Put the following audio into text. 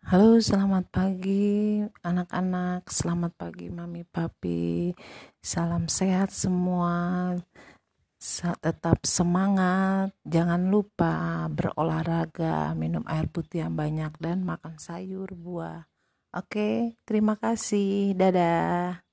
Halo, selamat pagi anak-anak, selamat pagi mami papi, salam sehat semua, tetap semangat, jangan lupa berolahraga, minum air putih yang banyak dan makan sayur, buah. Oke, terima kasih, dadah.